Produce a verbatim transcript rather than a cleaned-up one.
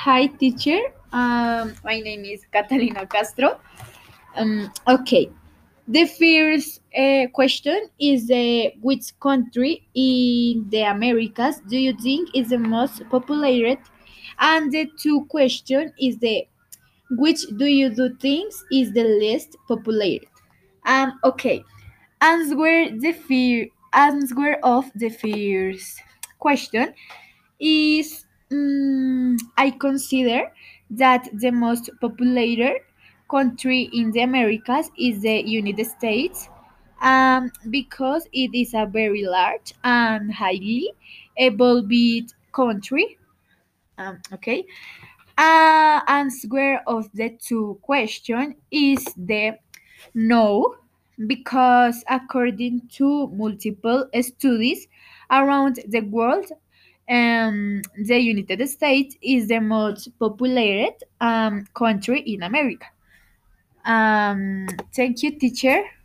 Hi, teacher. Um, my name is Catalina Castro. Um, okay. The first uh, question is uh, which country in the Americas do you think is the most populated? And the two question is the which do you do things is the least populated? Um, okay. Answer the fear. Answer of the first question is mm, I consider that the most populated country in the Americas is the United States, um, because it is a very large and highly evolved country. Um, okay. Uh, answer of the two question is the no, because according to multiple studies around the world, um, the United States is the most populated um, country in America. Um, thank you, teacher.